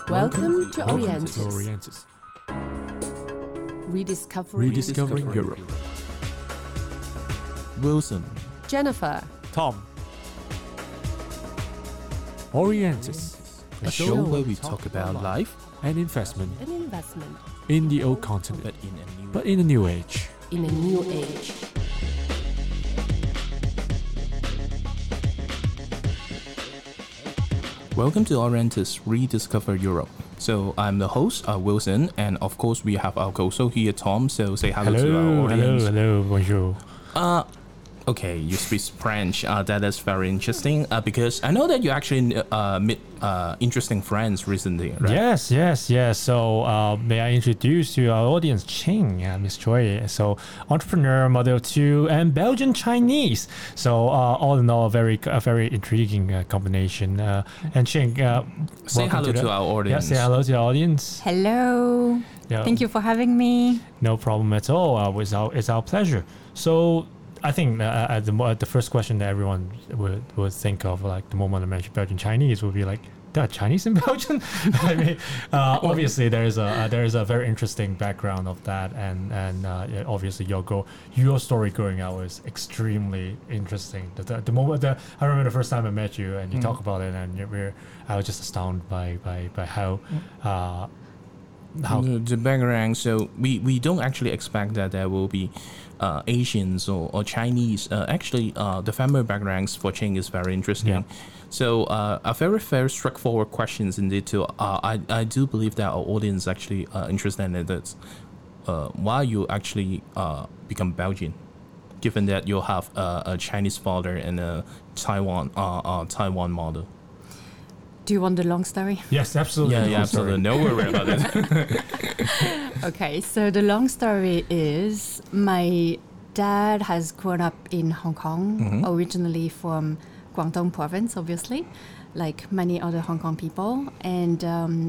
Welcome to Welcome to Orientis. Orientis. Rediscovering Europe. Wilson. Jennifer. Tom. Orientis, A show where we talk about life, an investment An investment in the old continent, but in a new age. in a new age. Welcome to Orientis Rediscover Europe. So I'm the host, Wilson, and of course we have our co-host here, Tom. So say hello to our audience. Hello, bonjour. Okay, you speak French. That is very interesting because I know that you actually met interesting friends recently, right? Yes. So may I introduce to our audience Ching, Miss Choi. So entrepreneur, mother of two, and Belgian Chinese. So all in all, a very intriguing combination. And Ching, Say hello to our audience. Yeah, say hello to our audience. Hello. Yeah. Thank you for having me. No problem at all. It's our pleasure. So I think the first question that everyone would think of, like the moment I mention Belgian Chinese, would be like, there are Chinese in Belgium. I mean, obviously there is a very interesting background of that, and yeah, obviously your story growing out was extremely interesting. The moment that I remember the first time I met you and you talk about it, and I was just astounded by how. The background, so we don't actually expect that there will be Asians or Chinese. Actually, the family backgrounds for Ching is very interesting. Yeah. So a very straightforward questions indeed too. I do believe that our audience actually interested in that. Why you actually become Belgian, given that you have a Chinese father and a Taiwan mother. Do you want the long story? Yes, absolutely. Yeah, absolutely. No worry about it. Okay, so the long story is my dad has grown up in Hong Kong, originally from Guangdong province, obviously, like many other Hong Kong people. And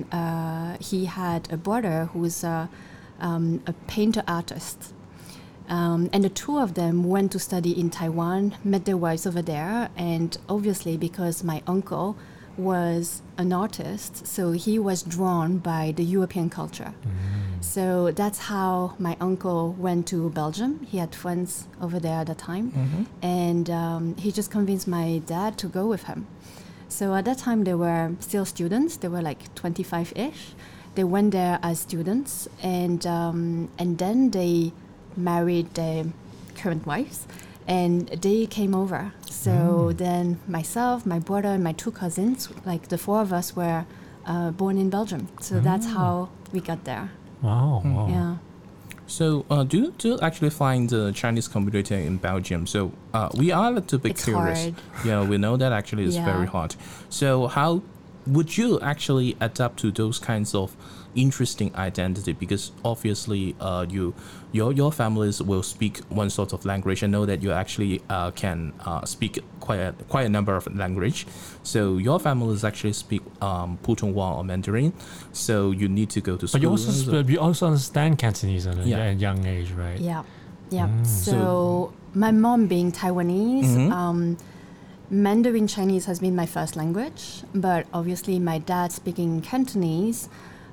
he had a brother who's a painter artist. And the two of them went to study in Taiwan, met their wives over there, and obviously because my uncle was an artist, so he was drawn by the European culture. So that's how my uncle went to Belgium. He had friends over there at the time, and he just convinced my dad to go with him. So at that time they were still students. They were like 25-ish. They went there as students, and then they married their current wives, and they came over. So then myself, my brother, and my two cousins, like the four of us were born in Belgium. So that's how we got there. Wow. Yeah. So do you actually find the Chinese community in Belgium? So we are a little bit It's curious. hard. Yeah, we know that actually it's very Yeah. hard. So how would you actually adapt to those kinds of interesting identity? Because obviously your families will speak one sort of language. I know that you actually can speak quite a number of language. So your families actually speak Putonghua or Mandarin. So you need to go to school. But you also understand Cantonese at a young age, right? Yeah. So my mom being Taiwanese, Mandarin Chinese has been my first language, but obviously my dad speaking Cantonese,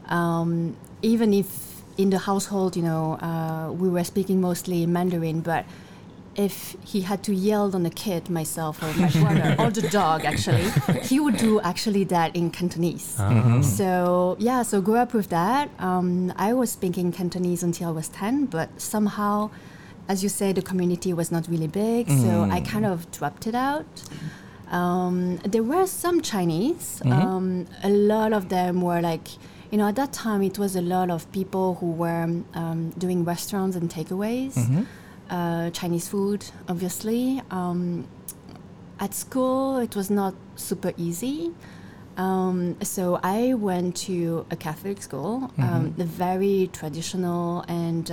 even if in the household, we were speaking mostly Mandarin, but if he had to yell on the kid, myself or my brother, or the dog actually, he would do actually that in Cantonese. So grew up with that. I was speaking Cantonese until I was 10, but somehow, as you say, the community was not really big, so I kind of dropped it out. There were some Chinese. A lot of them were like, at that time it was a lot of people who were doing restaurants and takeaways, Chinese food, obviously. At school, it was not super easy. So I went to a Catholic school, very traditional and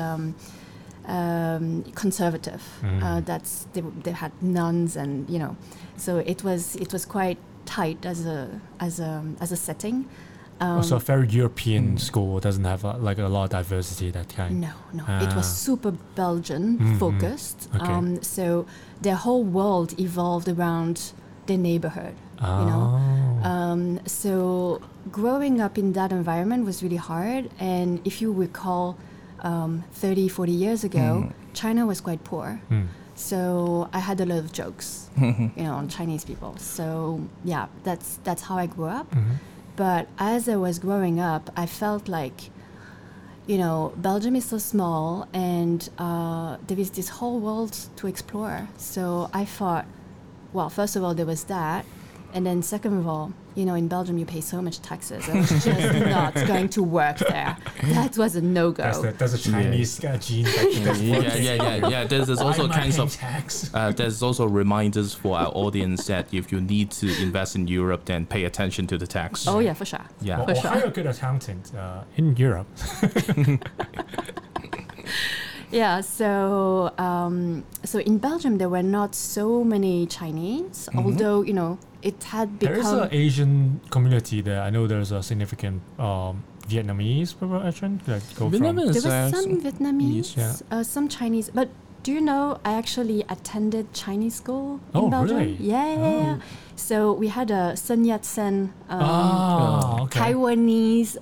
conservative. They had nuns, and so it was quite tight as a setting. So a very European school doesn't have a lot of diversity, that kind. No. It was super Belgian focused. Okay. So their whole world evolved around their neighborhood. So growing up in that environment was really hard. And if you recall, 30, 40 years ago, China was quite poor. So I had a lot of jokes, on Chinese people. So yeah, that's how I grew up. But as I was growing up, I felt like, Belgium is so small and there is this whole world to explore. So I thought, well, first of all, there was that. And then second of all, in Belgium, you pay so much taxes. I was just not going to work there. That was a no-go. That's a Chinese gene. Yeah. There's also kinds of tax. there's also reminders for our audience that if you need to invest in Europe, then pay attention to the tax. Oh yeah, for sure. Yeah. Or hire a good accountant in Europe. Yeah, so in Belgium there were not so many Chinese, although it had become. There is an Asian community there. I know there's a significant Vietnamese population that go from. There was some Vietnamese, yeah. Some Chinese, but do you know I actually attended Chinese school in Oh, Belgium? really? Yeah. So we had a Sun Yat-sen Okay. Taiwanese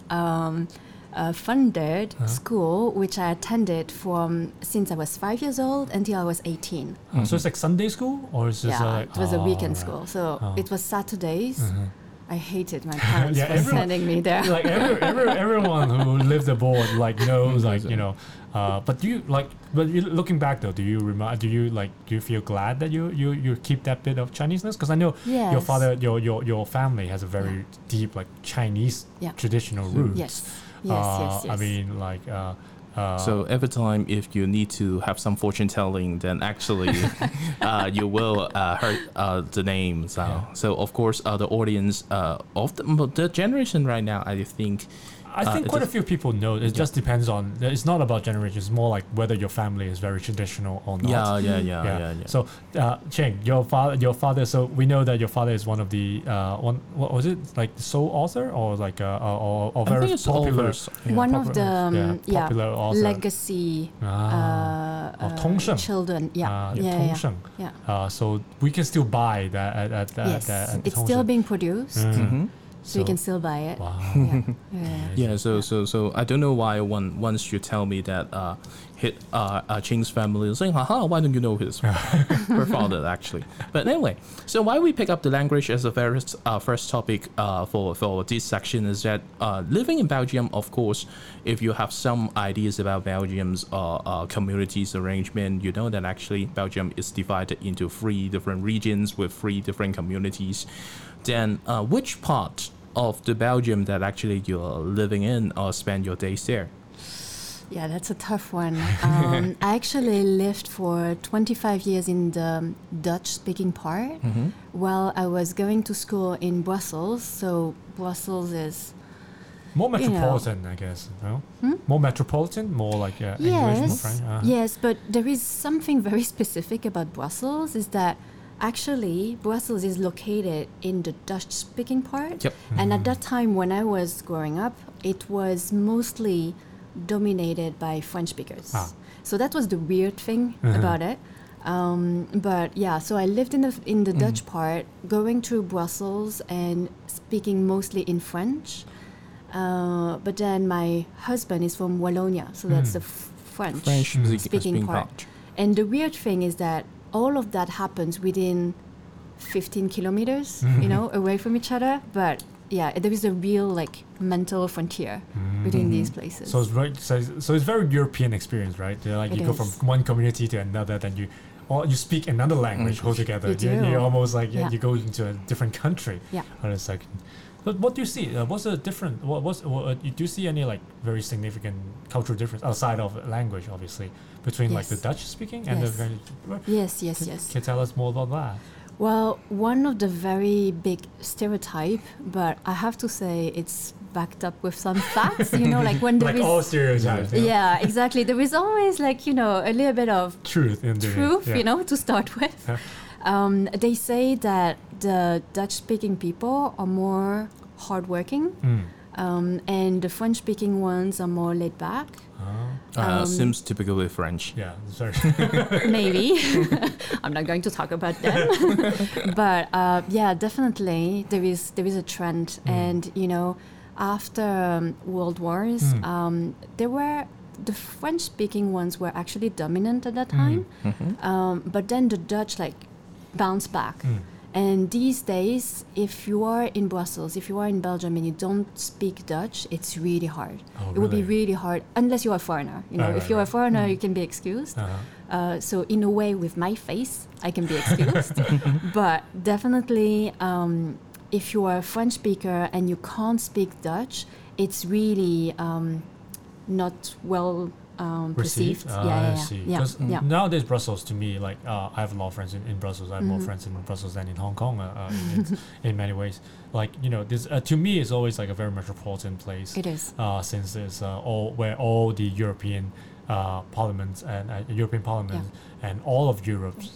funded school, which I attended since I was 5 years old until I was 18. So it's like Sunday school, or is this like, it was a weekend right. school. So it was Saturdays. I hated my parents Yeah, for everyone- sending me there. Like everyone who lived abroad knows but looking back though, do you feel glad that you keep that bit of Chineseness? Because I know Yes. your father, your family has a very deep Chinese traditional roots. Yes. I mean So every time if you need to have some fortune telling, then actually you will hurt the name. So of course the audience of the generation right now, I think quite a few people know. It just depends on. It's not about generations. It's more like whether your family is very traditional or not. Yeah. So, Cheng, your father. So we know that your father is one of the what was it, like the sole author, or like or I very think it's popular. authors. One of the popular author. legacy Tongsheng. children. Yeah. Tongsheng. Yeah. So we can still buy that at Yes, at it's still Tongsheng. being produced, Mm-hmm. so you can still buy it. Wow. Yeah. So I don't know why once you tell me that Ching's family is saying, haha, why don't you know her father actually? But anyway, so why we pick up the language as a first topic for this section is that living in Belgium, of course, if you have some ideas about Belgium's communities arrangement, you know that actually Belgium is divided into 3 different regions with 3 different communities. Then which part of the Belgium that actually you're living in or spend your days there? Yeah, that's a tough one. I actually lived for 25 years in the Dutch-speaking part while I was going to school in Brussels. So Brussels is... More metropolitan, I guess. No? More metropolitan, more like English, more French. Yes, but there is something very specific about Brussels, is that actually Brussels is located in the Dutch-speaking part. Yep. And at that time when I was growing up, it was mostly dominated by French speakers. So that was the weird thing about it. But yeah, so I lived in the Dutch part, going through Brussels and speaking mostly in French. But then my husband is from Wallonia, so that's the French speaking part. And the weird thing is that all of that happens within 15 kilometers, away from each other. But yeah, there is a real mental frontier between these places. So it's very European experience, right? You go from one community to another, then you speak another language altogether. You do. You're almost you go into a different country. Yeah. On a second. But what do you see? What's the different? Do you see any very significant cultural difference outside of language, obviously, between the Dutch speaking and the Yes. Can you tell us more about that? Well, one of the very big stereotype, but I have to say it's backed up with some facts. When there is all stereotypes. Yeah, exactly. There is always a little bit of truth, to start with. They say that the Dutch-speaking people are more hardworking, and the French-speaking ones are more laid back. Seems typically French. Yeah, sorry. Maybe. I'm not going to talk about them. But yeah, definitely there is a trend. And, you know, after World Wars, there were the French-speaking ones were actually dominant at that time. But then the Dutch like bounced back. And these days, if you are in Brussels, if you are in Belgium and you don't speak Dutch, it's really hard. Oh, It would be really? really hard, unless you're a foreigner. You know, Right, if you're right. a foreigner, you can be excused. So in a way, with my face, I can be excused. But definitely, if you are a French speaker and you can't speak Dutch, it's really not well perceived. I see. Yeah, Because yeah. nowadays Brussels, to me, like I have a lot of friends in Brussels. I have more friends in Brussels than in Hong Kong in many ways. Like, you know, this to me is always like a very metropolitan place. It is. Since it's all the European parliaments and European Parliament and all of Europe's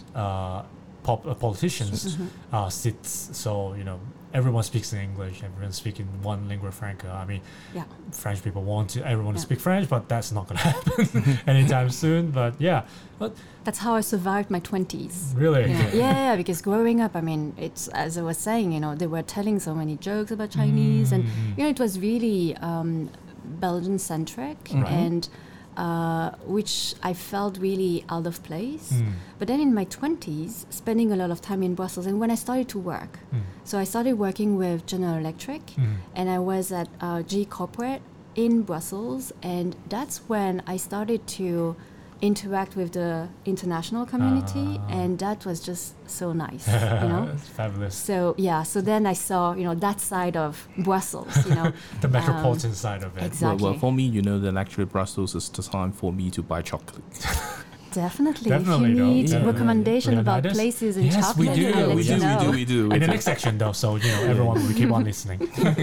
politicians sits. So, you know, everyone speaks in English. Everyone's speaking one lingua franca. I mean, French people want everyone to speak French, but that's not going to happen anytime soon. But yeah, but That's how I survived my 20s. really, Yeah, because growing up, I mean, it's, as I was saying, you know, they were telling so many jokes about Chinese, and, you know, it was really Belgian-centric, and which I felt really out of place. But then in my 20s, spending a lot of time in Brussels, and when I started to work, so I started working with General Electric, and I was at GE Corporate in Brussels, and that's when I started to interact with the international community, and that was just so nice, you know. It's fabulous. So yeah, so then I saw, you know, that side of Brussels, you know. The metropolitan side of it. Exactly. Well, for me, you know that actually Brussels is the time for me to buy chocolate. Definitely. Definitely, if you though. need Yeah. recommendation about Leonidas? places in Yes, chocolate, we do. I'll let We you do, know. we do. In the next section, though, so you know everyone will keep on listening.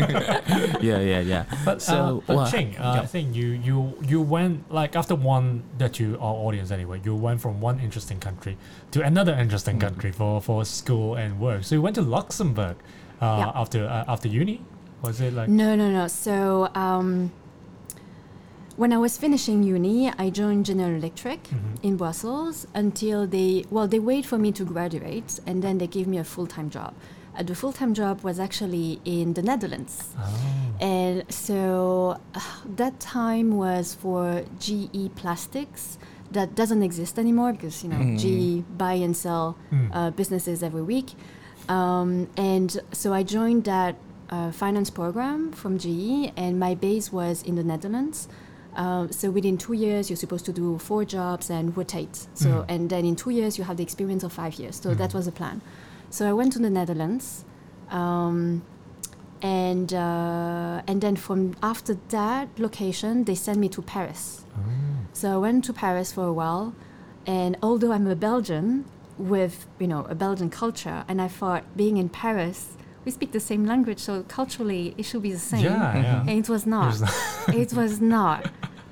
Yeah. But well, Ching, I think you went, like, after one, that you, our audience anyway, you went from one interesting country to another interesting country for school and work. So you went to Luxembourg after uni. Was it like? No. So when I was finishing uni, I joined General Electric in Brussels until they wait for me to graduate, and then they give me a full-time job. The full-time job was actually in the Netherlands. And so that time was for GE Plastics. That doesn't exist anymore because, you know, GE buy and sell businesses every week. And so I joined that finance program from GE, and my base was in the Netherlands. So within 2 years, you're supposed to do 4 jobs and rotate. So and then in 2 years, you have the experience of 5 years. So that was the plan. So I went to the Netherlands, and then from after that location, they sent me to Paris. So I went to Paris for a while, and although I'm a Belgian with, you know, a Belgian culture, and I thought being in Paris, we speak the same language, so culturally it should be the same. Yeah. And it was not. It was not.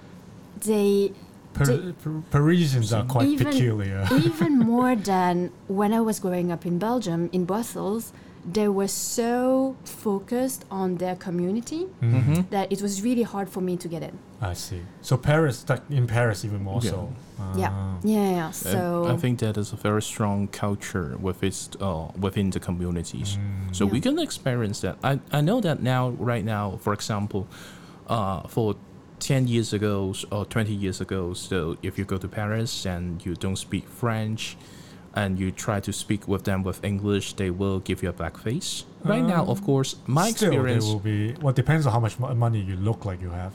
Parisians are quite even, peculiar. Even more than when I was growing up in Belgium, in Brussels, they were so focused on their community that it was really hard for me to get in. I see. So Paris, like in Paris, even more so. Yeah. So I think that is a very strong culture within the communities. So we can experience that. I know that right now, for example, for 10 years ago or 20 years ago, so if you go to Paris and you don't speak French and you try to speak with them with English, they will give you a black face. Right now, of course, my experience... Still, there will be... Well, depends on how much money you look like you have.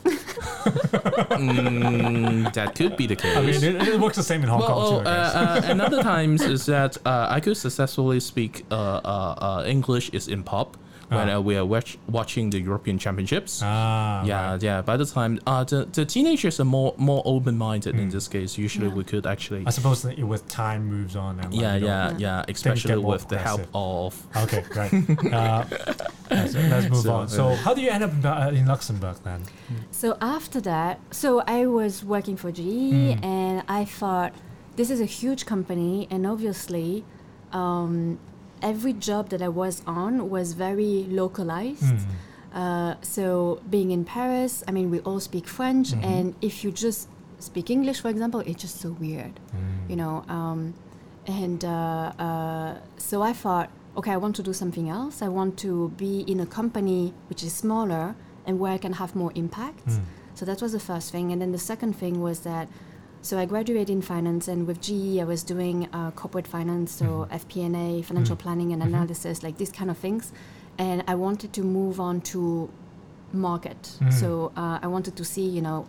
That could be the case. I mean, it works the same in Hong Kong too, I guess. And other times is that I could successfully speak English is in pub when we are watching the European Championships. Yeah. By the time the teenagers are more open-minded in this case. Usually we could actually. I suppose that with time moves on. And especially with the help of. Okay, right. Let's move on. So how do you end up in Luxembourg then? So after that, so I was working for GE, and I thought this is a huge company, and obviously. Every job that I was on was very localized. So being in Paris, I mean, we all speak French, and if you just speak English, for example, it's just so weird, you know. So I thought, okay, I want to do something else. I want to be in a company which is smaller and where I can have more impact. So that was the first thing. And then the second thing was that, so I graduated in finance, and with GE I was doing corporate finance, so FP&A, financial planning and analysis, like these kind of things. And I wanted to move on to market. So I wanted to see, you know,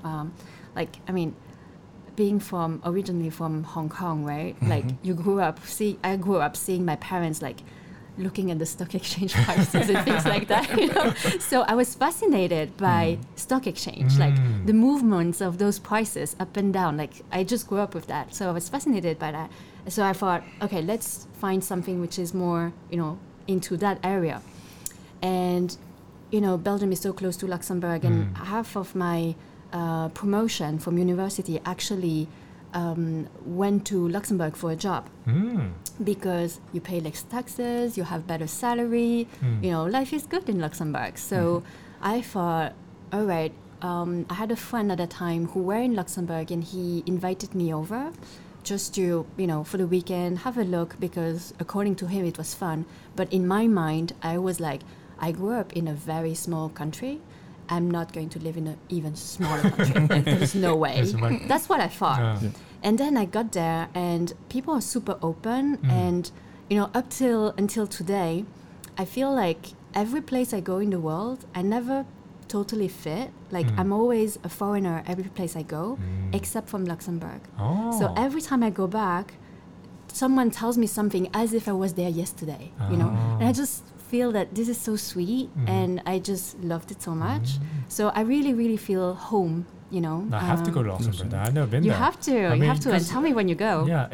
being originally from Hong Kong, right? Like I grew up seeing my parents like looking at the stock exchange prices and things like that, you know. So I was fascinated by stock exchange, like the movements of those prices up and down. Like I just grew up with that, so I was fascinated by that. So I thought, okay, let's find something which is more, you know, into that area. And you know, Belgium is so close to Luxembourg, and half of my promotion from university actually went to Luxembourg for a job because you pay less taxes, you have better salary, you know, life is good in Luxembourg. So I thought, all right, I had a friend at the time who were in Luxembourg, and he invited me over just to, you know, for the weekend, have a look, because according to him it was fun. But in my mind, I was like, I grew up in a very small country. I'm not going to live in an even smaller country. Like, there's no way. That's what I thought. And then I got there, and people are super open. And, you know, until today, I feel like every place I go in the world, I never totally fit. Like, I'm always a foreigner every place I go, except from Luxembourg. So every time I go back, someone tells me something as if I was there yesterday, you know? And I just feel that this is so sweet, and I just loved it so much. So I really, really feel home, you know. I have to go to Luxembourg. I've never been you there. Have to. You have to. And tell me when you go. Yeah.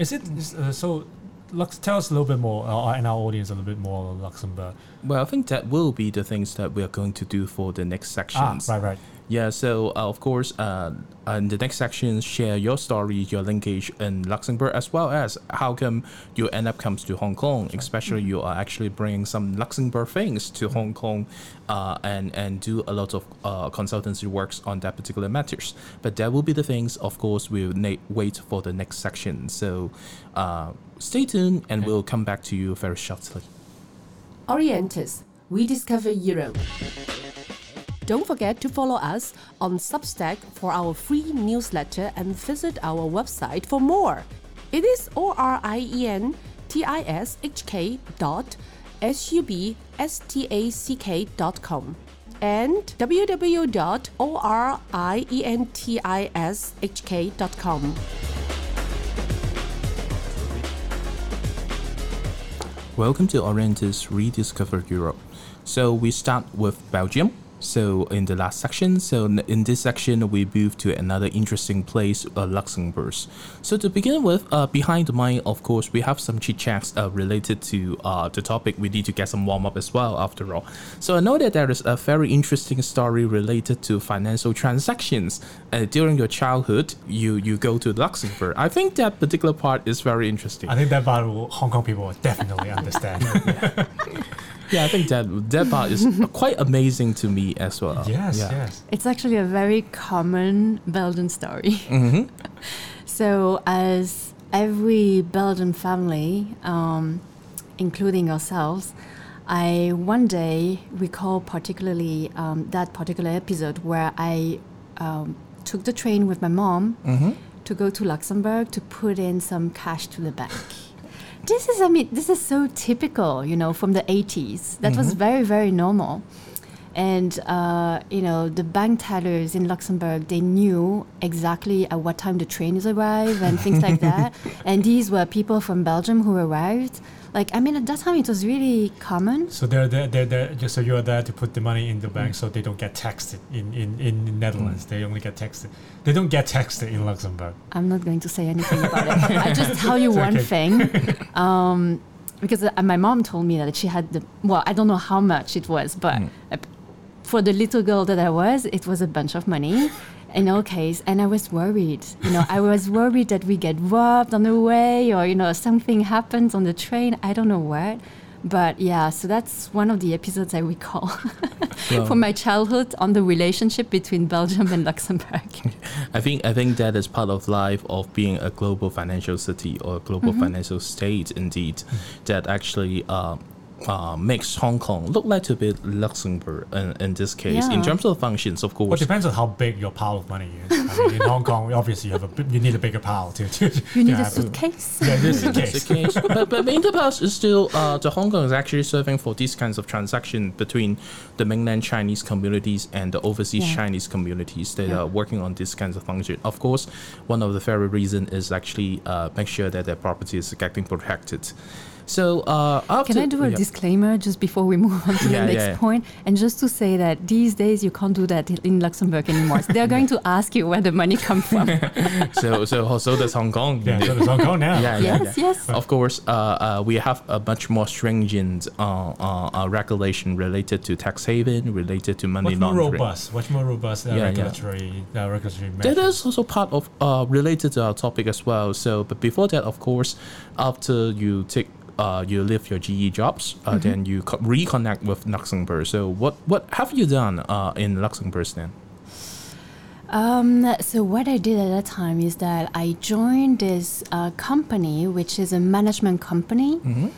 Tell us a little bit more, and our audience a little bit more on Luxembourg. Well, I think that will be the things that we are going to do for the next sections. Right. Yeah, so of course, in the next section, share your story, your linkage in Luxembourg, as well as how come you end up comes to Hong Kong, especially you are actually bringing some Luxembourg things to Hong Kong and do a lot of consultancy works on that particular matters. But that will be the things, of course, we'll wait for the next section. So stay tuned, and we'll come back to you very shortly. Orientis, Rediscover Europe. Don't forget to follow us on Substack for our free newsletter and visit our website for more. It is orientishk.substack.com and www.orientishk.com. Welcome to Orientis Rediscover Europe. So we start with Belgium. So in the last section, in this section, we move to another interesting place, Luxembourg. So to begin with, behind the mic, of course, we have some chit-chats related to the topic. We need to get some warm-up as well, after all. So I know that there is a very interesting story related to financial transactions. During your childhood, you go to Luxembourg. I think that particular part is very interesting. I think that part Hong Kong people will definitely understand. Yeah, I think that part is quite amazing to me as well. Yes. It's actually a very common Belgian story. So as every Belgian family, including ourselves, I one day recall particularly that particular episode where I took the train with my mom to go to Luxembourg to put in some cash to the bank. This is so typical, you know, from the 80s. That was very, very normal. And, you know, the bank tellers in Luxembourg, they knew exactly at what time the trains arrive and things like that. And these were people from Belgium who arrived. Like, I mean, at that time, it was really common. So they're just so you're there to put the money in the bank so they don't get taxed in Netherlands. They only get taxed. They don't get taxed in Luxembourg. I'm not going to say anything about it. I'll just tell you one thing. Because my mom told me that she had I don't know how much it was, but for the little girl that I was, it was a bunch of money. In all case, and I was worried. You know, I was worried that we get robbed on the way, or you know, something happens on the train. I don't know what, But yeah, so that's one of the episodes I recall Well, from my childhood on the relationship between Belgium and Luxembourg. I think that is part of life of being a global financial city or a global financial state, indeed, that actually makes Hong Kong look like a bit Luxembourg in this case. In Yeah. terms of functions, of Well, it course. depends on how big your pile of money is. I mean, in Hong Kong, obviously you need a bigger pile to You need a have suitcase. Yeah, this is the That's case. the case. but in the past, it's still the Hong Kong is actually serving for these kinds of transactions between the mainland Chinese communities and the overseas Yeah. Chinese communities that Yeah. are working on these kinds of functions. Of course, one of the very reason is actually make sure that their property is getting protected. So after, Can I do a yeah. disclaimer just before we move on to Yeah, the next yeah. point? And just to say that these days you can't do that in Luxembourg anymore. So they're going to ask you where the money comes from. so does Hong Kong. Yeah, so there's Hong Kong now. Yes, yes. Of course, we have a much more stringent regulation related to tax haven, related to money What's more laundering. robust? What's more robust Yeah, yeah. regulatory That measures? is also part of related to our topic as well. So, but before that, of course, after you take you leave your GE jobs, then you reconnect with Luxembourg. So, what have you done in Luxembourg then? So what I did at that time is that I joined this company, which is a management company,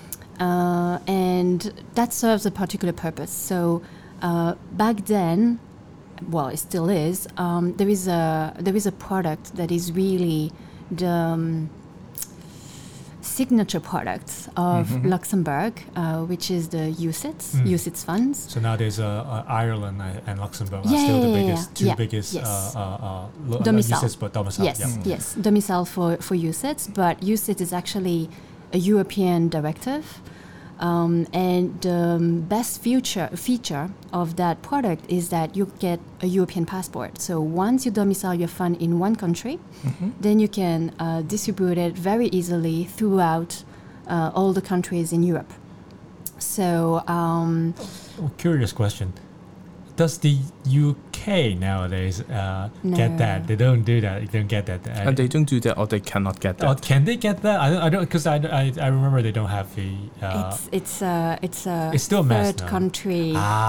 and that serves a particular purpose. So back then, well, it still is. There is a product that is really the signature product of Luxembourg, which is the UCITS funds. So nowadays, Ireland and Luxembourg are Yeah, still the yeah, biggest, two yeah. biggest Yes. domicile. Domicile. But domicile. Yes, Yeah. yes, domicile for UCITS, but UCITS is actually a European directive, and the best feature of that product is that you get a European passport. So once you domicile your fund in one country, then you can distribute it very easily throughout all the countries in Europe. So Oh, curious question. Does the UK nowadays get that? They don't do that. They don't get that. And they don't do that, or they cannot get that. Oh, can they get that? I don't because I remember they don't have the. it's a It's still a mess third now. country.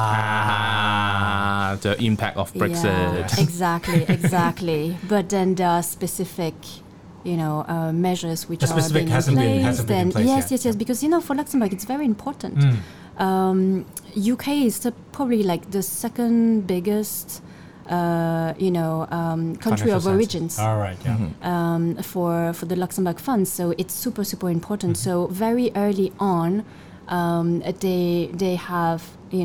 The impact of Brexit. Yeah, exactly. But then there are specific, measures which The specific are being hasn't been- in place. hasn't been in Then place yet. yes. Because for Luxembourg it's very important. UK is probably like the second biggest, country Financial of sense. origins. All right. Yeah. For the Luxembourg funds. So it's super important. So very early on, they have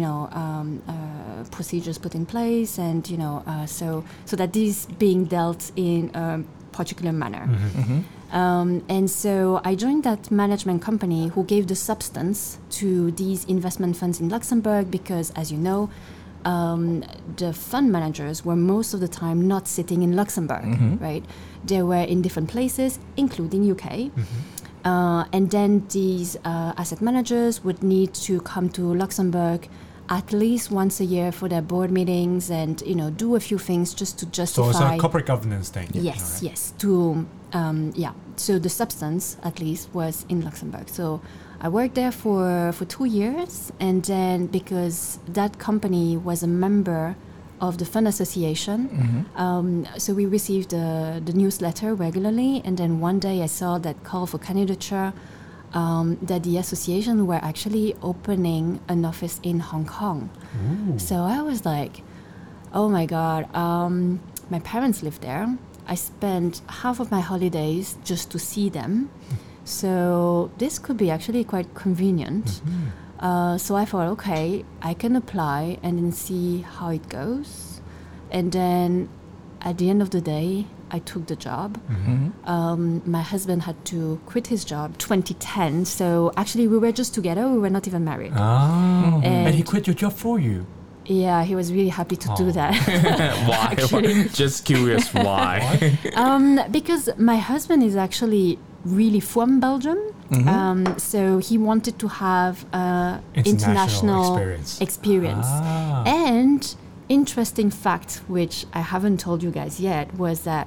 procedures put in place, and so that this being dealt in a particular manner. And so I joined that management company who gave the substance to these investment funds in Luxembourg because, as you know, the fund managers were most of the time not sitting in Luxembourg, right? They were in different places, including UK. And then these asset managers would need to come to Luxembourg at least once a year for their board meetings and do a few things just to So justify. it's a corporate governance thing. Yes, All right. yes. So the substance, at least, was in Luxembourg. So I worked there for 2 years, and then because that company was a member of the fund association, so we received the newsletter regularly, and then one day I saw that call for candidature that the association were actually opening an office in Hong Kong. So I was like, oh my God, my parents live there. I spent half of my holidays just to see them. So this could be actually quite convenient. So I thought, okay, I can apply and then see how it goes. And then at the end of the day, I took the job. My husband had to quit his job 2010. So actually we were just together. We were not even married. Oh. And he And- quit your job for you. Yeah, he was really happy to do Oh. that. Why? Actually. Just curious why. Because my husband is actually really from Belgium. So he wanted to have international experience. Ah. And interesting fact, which I haven't told you guys yet, was that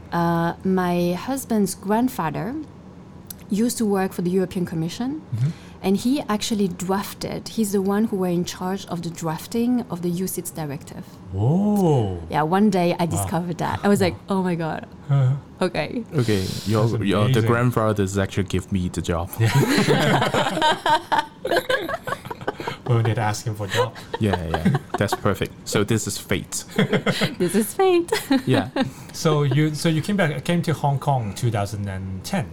my husband's grandfather used to work for the European Commission, And he actually he's the one who were in charge of the drafting of the UCITS directive. Whoa. Yeah, one day I discovered that. I was like, oh my God. Okay. Okay, the amazing. grandfathers actually give me the job. When they'd ask him for a job. Yeah, that's perfect. So this is fate. This is fate. Yeah. So you came to Hong Kong 2010.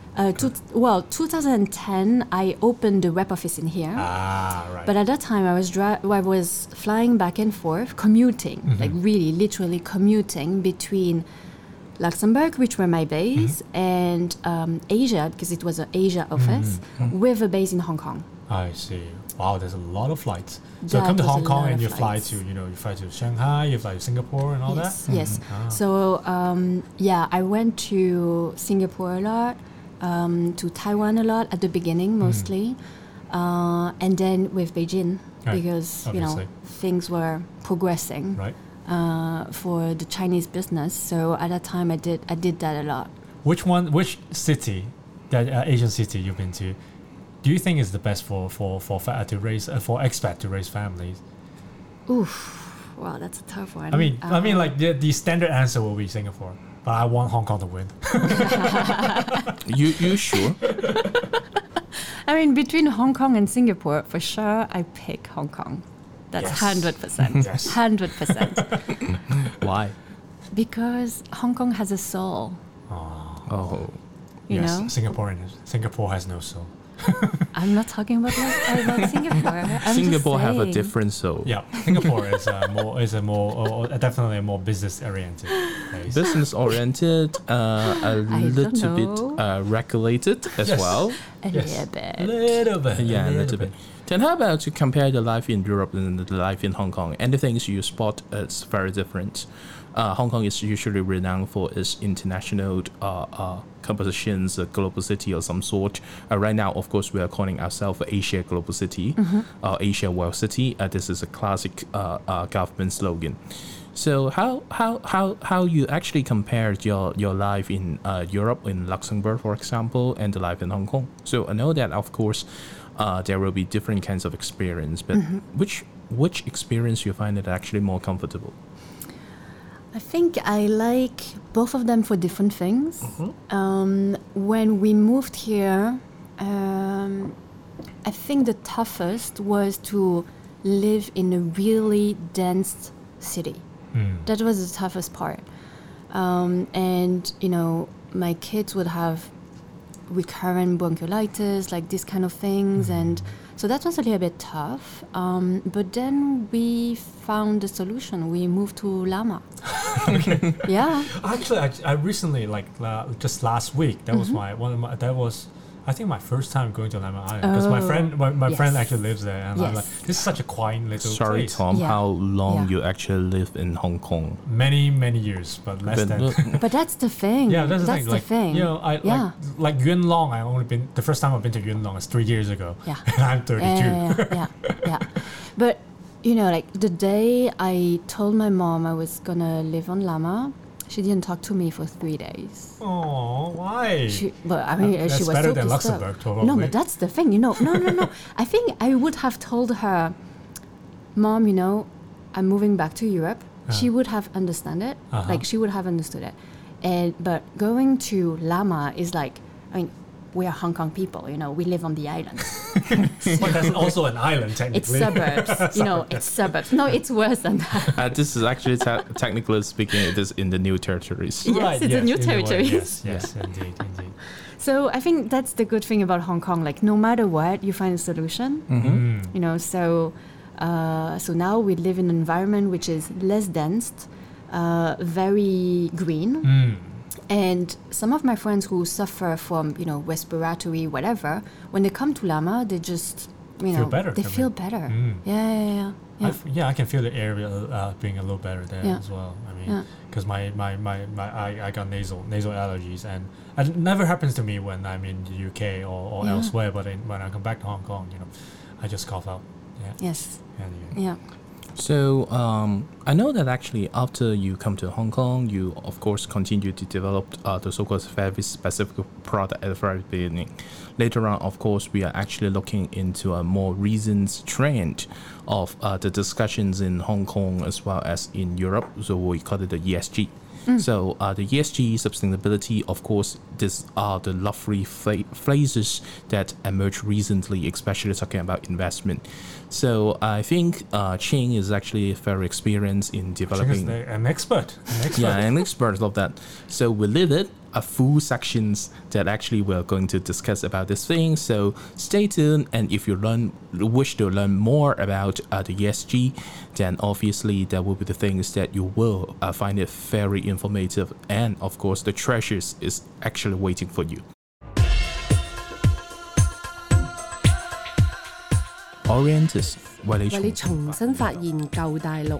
2010, I opened the rep office in here. Ah, right. But at that time, I was flying back and forth, commuting, like really, literally commuting between Luxembourg, which were my base, and Asia, because it was an Asia office, with a base in Hong Kong. I see. Wow, there's a lot of flights. So you That come to was a Hong Kong lot and of you fly flights. to, you fly to Shanghai, you fly to Singapore and all Yes, that? yes. Ah. So, I went to Singapore a lot, to Taiwan a lot at the beginning mostly, and then with Beijing, Right, because, obviously. things were progressing Right. for the Chinese business. So at that time, I did that a lot. Which city, that Asian city you've been to, do you think is the best for expat to raise families? Oof, wow, that's a tough one. I mean, like the standard answer will be Singapore, but I want Hong Kong to win. You sure? I mean, between Hong Kong and Singapore, for sure, I pick Hong Kong. That's Yes. 100%. Yes. 100%. Why? Because Hong Kong has a soul, Oh. you Yes, know? Singapore has no soul. I'm not talking about Singapore. I'm Singapore just have a saying. different soul. Yeah, Singapore is definitely a more business oriented place. Business oriented, a little bit know. regulated as Yes. well. A Yes. little bit. Little bit. Yeah, a little bit. Then how about to compare the life in Europe and the life in Hong Kong? And the things you spot is very different. Hong Kong is usually renowned for its international compositions, a global city of some sort. Right now, of course, we are calling ourselves Asia Global City, Asia World City. This is a classic government slogan. So how you actually compared your life in Europe, in Luxembourg, for example, and the life in Hong Kong? So I know that, of course, there will be different kinds of experience, but which experience you find it actually more comfortable? I think I like both of them for different things. When we moved here, I think the toughest was to live in a really dense city. That was the toughest part. And, my kids would have recurrent bronchiolitis, like these kind of things. And so that was a little bit tough. But then we found a solution. We moved to Lama. Yeah. Actually, I recently, just last week, that was I think my first time going to Lemon Island, because my friend Yes. actually lives there, and I'm Yes. like, this is such a quiet little Sorry, place. Tom, Yeah. how long Yeah. you actually live in Hong Kong? Many years, but less But than. look, But that's the thing. Yeah, that's the thing. the Like, thing. Yeah. like Yuen Long. I only been the first time I've been to Yuen Long is 3 years ago. Yeah. And I'm 32. Yeah. But the day I told my mom I was gonna live on Lama, she didn't talk to me for 3 days. Oh, why? She was That's so better than disturbed. Luxembourg, probably. No, but that's the thing. No. I think I would have told her, Mom, I'm moving back to Europe. She would have understood it. Uh-huh. Like she would have understood it. But going to Lama is like, we are Hong Kong people. We live on the island. But that's also an island, It's technically. suburbs. It's suburbs. No, it's worse than that. this is actually technically speaking, it is in the new territories. Yes, it's a new in way. territory. Yes, indeed. So I think that's the good thing about Hong Kong. Like no matter what, you find a solution. So now we live in an environment which is less dense, very green. And some of my friends who suffer from, respiratory whatever, when they come to Lama, they just, Feel better, They I feel mean. better. Mm. Yeah. I can feel the area being a little better there Yeah. as well. I mean, Yeah. because I got nasal allergies, and it never happens to me when I'm in the UK or Yeah. elsewhere. But when I come back to Hong Kong, I just cough out. Yeah. Yes. Anyway. Yeah. So I know that actually after you come to Hong Kong, you of course continue to develop the so-called very specific product at the very beginning. Later on, of course, we are actually looking into a more recent trend of the discussions in Hong Kong as well as in Europe. So we call it the ESG. So the ESG, sustainability, of course, these are the lovely phrases that emerged recently, especially talking about investment. So I think Ching is actually very experienced in developing. An expert. Yeah, an expert of that. So we lit it a full sections that actually we're going to discuss about this thing. So stay tuned, and if you wish to learn more about the ESG, then obviously that will be the things that you will find it very informative, and of course the treasures is actually waiting for you. Orientus 為你為你重新發現舊大陸。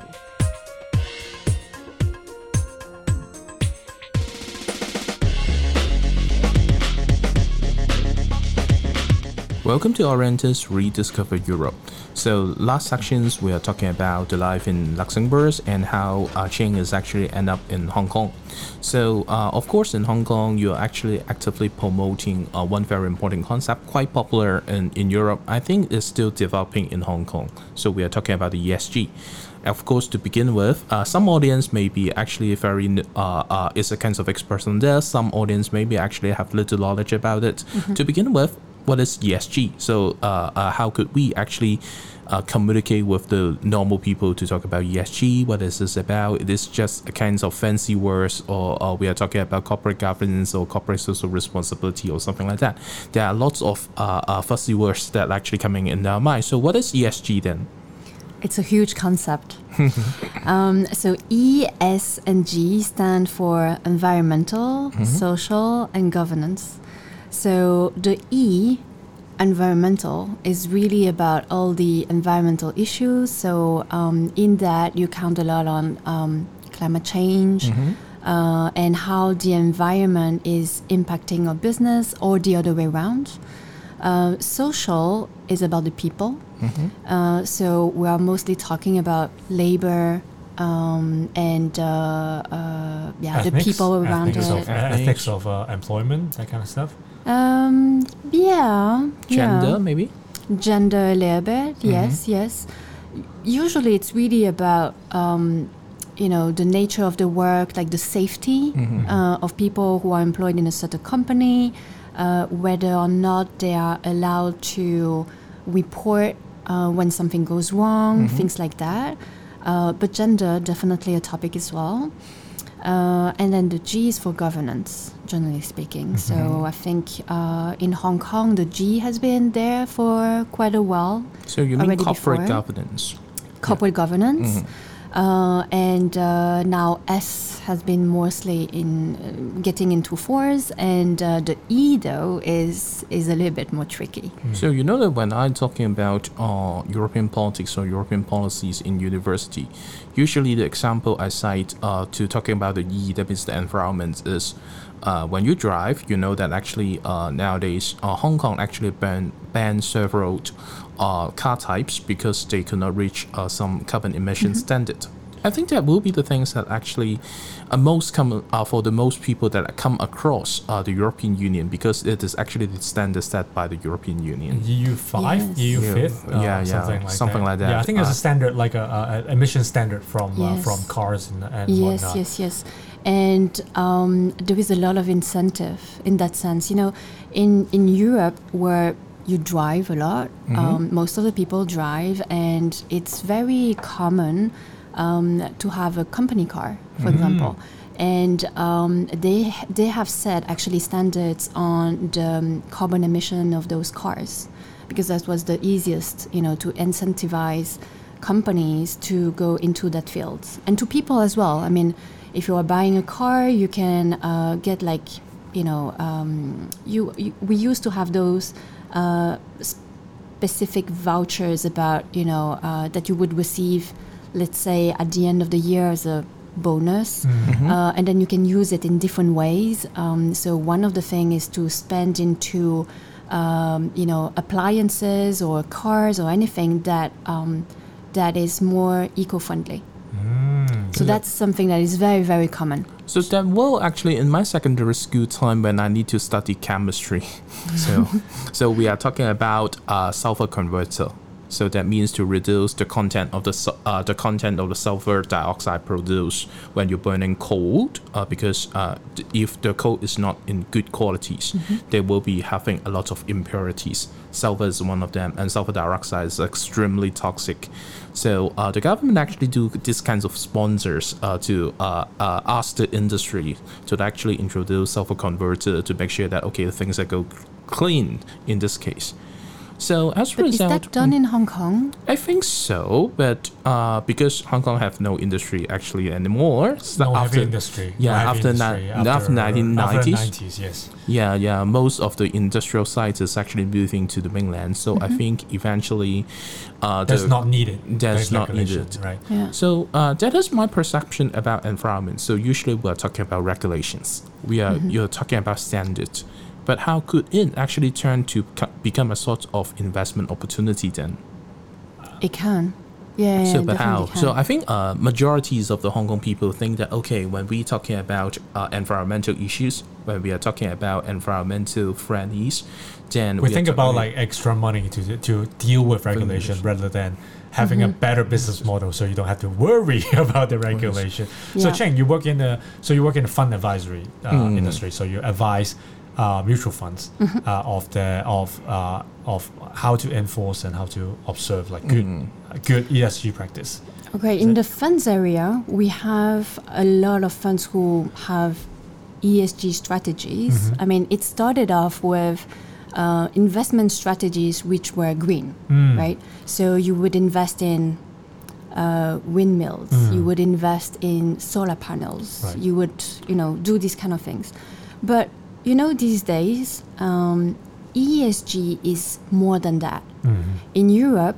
Welcome to Orientus Rediscover Europe. So last sections we are talking about the life in Luxembourg and how Ching is actually end up in Hong Kong. So of course in Hong Kong you're actually actively promoting one very important concept, quite popular in Europe. I think it's still developing in Hong Kong. So we are talking about the ESG. Of course, to begin with, some audience may be actually very is a kind of expert on this. Some audience maybe actually have little knowledge about it. To begin with, what is ESG? So how could we actually communicate with the normal people to talk about ESG? What is this about? It is just a kind of fancy words, or we are talking about corporate governance or corporate social responsibility or something like that. There are lots of fuzzy words that are actually coming in our mind. So what is ESG then? It's a huge concept. So E, S, and G stand for environmental, social, and governance. So the E, environmental, is really about all the environmental issues. So in that you count a lot on climate change and how the environment is impacting our business, or the other way around. Social is about the people. So we are mostly talking about labor and the people around it. Ethics of employment, that kind of stuff. Gender, maybe? Gender a little bit, yes. Usually it's really about, the nature of the work, like the safety of people who are employed in a certain company, whether or not they are allowed to report when something goes wrong, things like that. But gender, definitely a topic as well. And then the G is for governance, generally speaking. So I think in Hong Kong, the G has been there for quite a while. So you mean corporate governance? Corporate governance. And now S has been mostly in getting into force, and the E though is a little bit more tricky. So you know that when I'm talking about European politics or European policies in university, usually the example I cite to talking about the E, that means the environment, is when you drive, you know that actually nowadays Hong Kong actually banned several car types because they could not reach some carbon emission standard. I think that will be the things that actually most common for the most people that come across the European Union, because it is actually the standard set by the European Union. EU5, EU5, something like that. Yeah, I think it's a standard, like a emission standard from cars and whatnot. Yes. And there is a lot of incentive in that sense. In Europe, where you drive a lot, most of the people drive, and it's very common to have a company car, for example. And they have set actually standards on the carbon emission of those cars, because that was the easiest, to incentivize companies to go into that field, and to people as well. I mean, if you are buying a car, you can get we used to have those specific vouchers about that you would receive, let's say at the end of the year, as a bonus, and then you can use it in different ways. So one of the things is to spend into appliances or cars or anything that that is more eco-friendly. So that's something that is very, very common. So that will actually in my secondary school time when I need to study chemistry. So we are talking about sulfur converter. So that means to reduce the content of the sulfur dioxide produced when you're burning coal, because if the coal is not in good qualities, they will be having a lot of impurities. Sulfur is one of them, and sulfur dioxide is extremely toxic. So the government actually do these kinds of sponsors to ask the industry to actually introduce sulfur converter to make sure that okay, the things that go clean in this case. So as a But is result, that done in Hong Kong? I think so, but because Hong Kong have no industry actually anymore. So No after heavy industry. yeah, No heavy after industry after 1990s. After the 90s, yes. Yeah, most of the industrial sites is actually moving to the mainland. So I think eventually, That's not needed. that's not regulation, needed. right? Yeah. So that is my perception about environment. So usually we're talking about regulations. You're talking about standards. But how could it actually turn to become a sort of investment opportunity then? It can. Yeah, So, but definitely how? can. So, I think majorities of the Hong Kong people think that okay, when we're talking about environmental issues, when we are talking about environmental friendlies, then We are think about talking- like extra money to deal with regulation rather than having a better business model, so you don't have to worry about the regulation. So Yeah. Cheng, you work in the fund advisory industry, so you advise mutual funds of how to enforce and how to observe like good ESG practice. Okay, in the funds area, we have a lot of funds who have ESG strategies. I mean, it started off with investment strategies which were green, right? So you would invest in windmills, you would invest in solar panels, Right. you would, do these kind of things. But, these days, ESG is more than that. In Europe,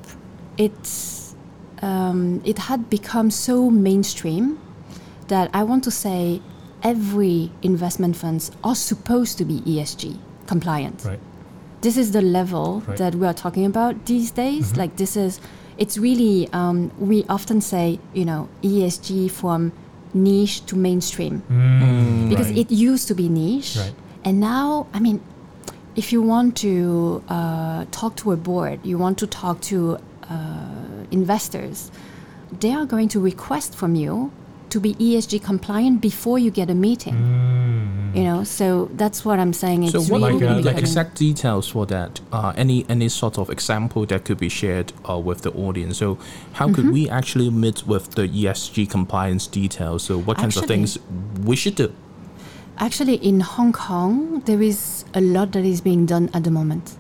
it had become so mainstream that I want to say every investment funds are supposed to be ESG compliant. Right. This is the level Right. that we are talking about these days. Like it's really, we often say, ESG from niche to mainstream because Right. it used to be niche. Right. And now, I mean, if you want to talk to a board, you want to talk to investors, they are going to request from you to be ESG compliant before you get a meeting. So that's what I'm saying. It's So what really would be the becoming- exact details for that? Any sort of example that could be shared with the audience? So how could we actually meet with the ESG compliance details? So what kinds of Actually- things we should do? Actually, in Hong Kong, there is a lot that is being done at the moment.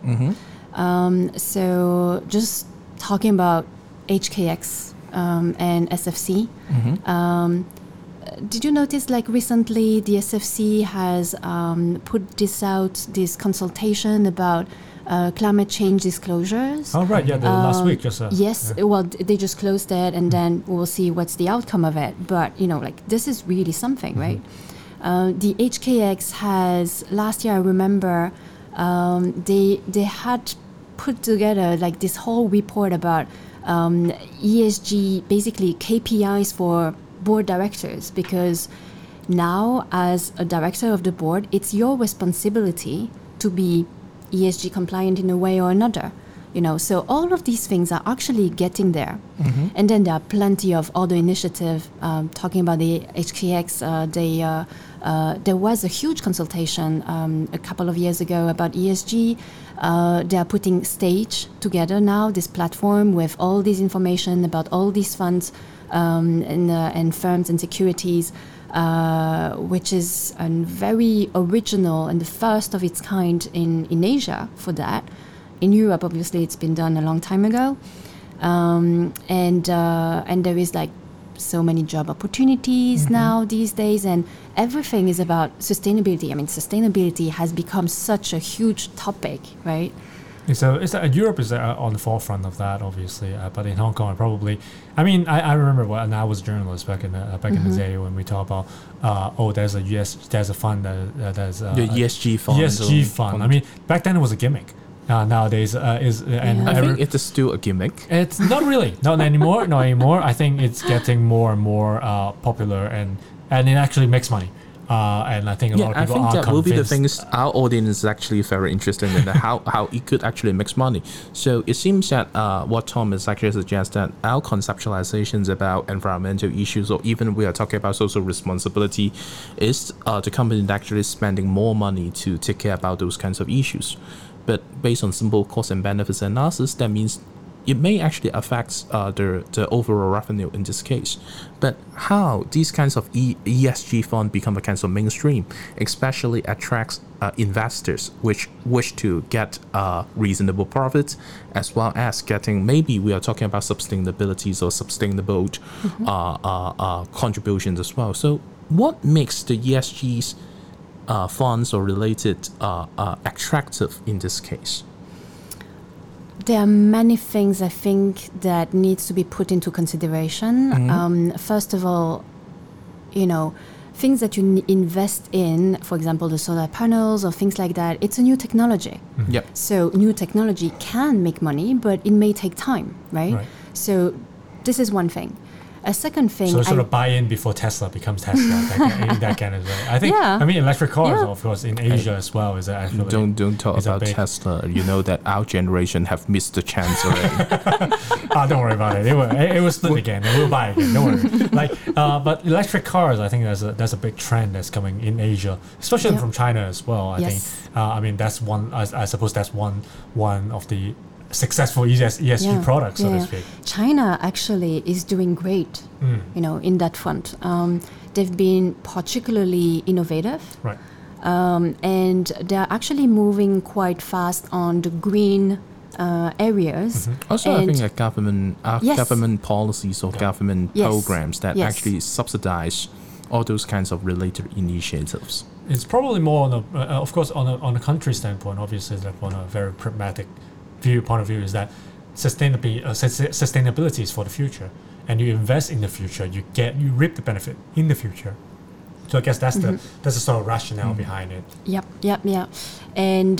So just talking about HKX and SFC. Did you notice, like recently, the SFC has put this consultation about climate change disclosures? Oh right, yeah, the last week just Yes, well, they just closed it, and then we'll see what's the outcome of it. But this is really something, right? The HKX has last year. I remember they had put together like this whole report about ESG, basically KPIs for board directors, because now as a director of the board, it's your responsibility to be ESG compliant in a way or another. So all of these things are actually getting there. And then there are plenty of other initiatives. Talking about the HKX, there was a huge consultation a couple of years ago about ESG. They are putting Stage together now, this platform with all this information about all these funds and firms and securities, which is a very original and the first of its kind in Asia for that. In Europe, obviously, it's been done a long time ago, and there is like so many job opportunities now these days, and everything is about sustainability. I mean, sustainability has become such a huge topic, right? So Europe is on the forefront of that, obviously, but in Hong Kong, probably. I mean, I remember when I was a journalist back in the day when we talk about, there's a fund that's The ESG fund. ESG fund. I mean, back then it was a gimmick. nowadays. And I think it's still a gimmick. it's not really, not anymore, not anymore. I think it's getting more and more popular, and it actually makes money. And I think a lot of I people think are that will be the convinced. things our audience is actually very interested in, how it could actually make money. So it seems that what Tom is actually suggests that our conceptualizations about environmental issues, or even we are talking about social responsibility, is the company actually spending more money to take care about those kinds of issues. But based on simple cost and benefits analysis, that means it may actually affect the overall revenue in this case. But how these kinds of ESG fund become a kind of mainstream, especially attracts investors which wish to get reasonable profits, as well as getting, maybe we are talking about sustainabilities or sustainable contributions as well. So what makes the ESG's funds or related attractive in this case? There are many things I think that needs to be put into consideration. First of all, things that you invest in, for example, the solar panels or things like that, it's a new technology. Yep. So new technology can make money, but it may take time, right? So this is one thing. A second thing, So sort of buy in before Tesla becomes Tesla. that kind of way. I think. Yeah. I mean, electric cars, Yeah. of course, in Asia as well is actually. Don't talk is a about big- Tesla. You know that our generation have missed the chance already. Don't worry about it. It will split again. And we'll buy again. Don't worry. But electric cars, I think there's a big trend that's coming in Asia, especially Yeah. from China as well. I Yes. think. I mean, that's one. I suppose that's one of the successful ESG products, so to speak. China actually is doing great, in that front. They've been particularly innovative. Right. And they're actually moving quite fast on the green areas. Also, I And- think that government policies or government Yes. programs that Yes. actually subsidize all those kinds of related initiatives. It's probably more on of course, on a country standpoint. Obviously, like on a very pragmatic point of view, is that sustainability is for the future, and you invest in the future, you reap the benefit in the future. So I guess that's the sort of rationale behind it. Yep. And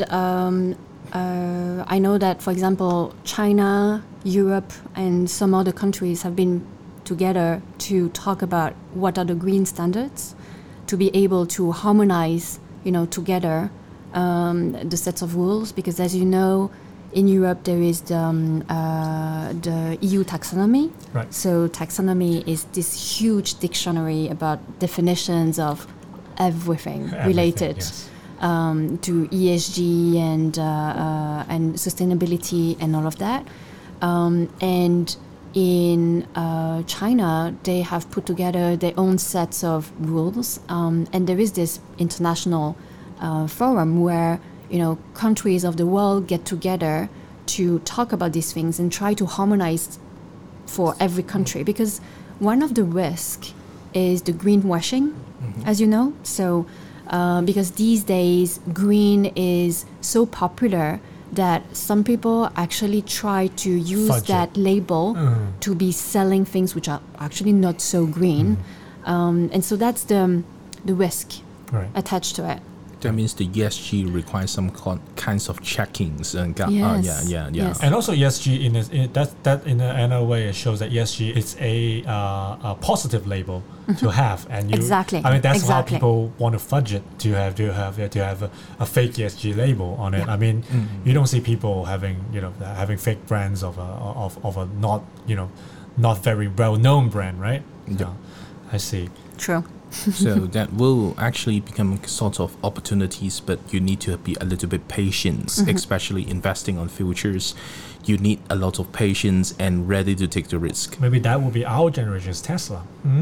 I know that, for example, China, Europe, and some other countries have been together to talk about what are the green standards, to be able to harmonize, together the sets of rules. Because as you know, in Europe there is the EU taxonomy. Right. So taxonomy is this huge dictionary about definitions of everything related. Yes. To ESG and sustainability and all of that. And in China, they have put together their own sets of rules. And there is this international forum where, countries of the world get together to talk about these things and try to harmonize for every country. Because one of the risks is the greenwashing, as you know. So because these days green is so popular that some people actually try to use Fudge that label to be selling things which are actually not so green. And so that's the risk attached to it. That means the ESG requires some kinds of checkings and Yes. yeah. And also ESG that in another way it shows that ESG is a positive label to have, and Exactly. I mean that's Exactly. how people want to fudge it to have a fake ESG label on it. I mean, you don't see people having fake brands of a not very well known brand, right? Yeah. I see. True. So that will actually become sort of opportunities, but you need to be a little bit patient, especially investing on futures. You need a lot of patience and ready to take the risk. Maybe that will be our generation's Tesla.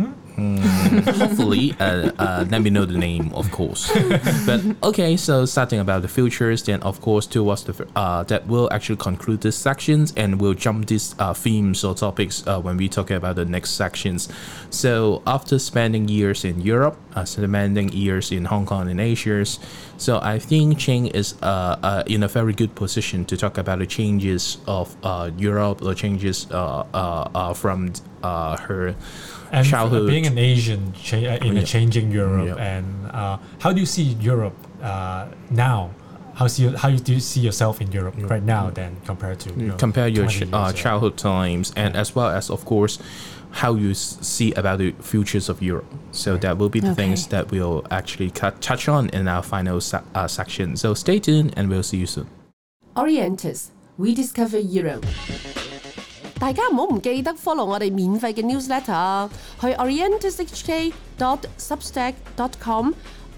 Hopefully, let me know the name, of course. But okay, so starting about the futures, then of course towards the that will actually conclude this sections, and we'll jump these themes or topics when we talk about the next sections. So after spending years in Europe, spending years in Hong Kong and Asia, so I think Ching is in a very good position to talk about the changes of Europe, or changes from her And childhood. being an Asian in a changing Europe, Yeah. and how do you see Europe now do you see yourself in Europe right now then compared to compare your 20 years ago? childhood times, and as well as, of course, how you see about the futures of Europe. So that will be the things that we'll actually touch on in our final section. So stay tuned and we'll see you soon. Orientus, we discover Europe. 大家唔好唔記得 follow 我哋免費嘅 newsletter 去 orientishk.substack.com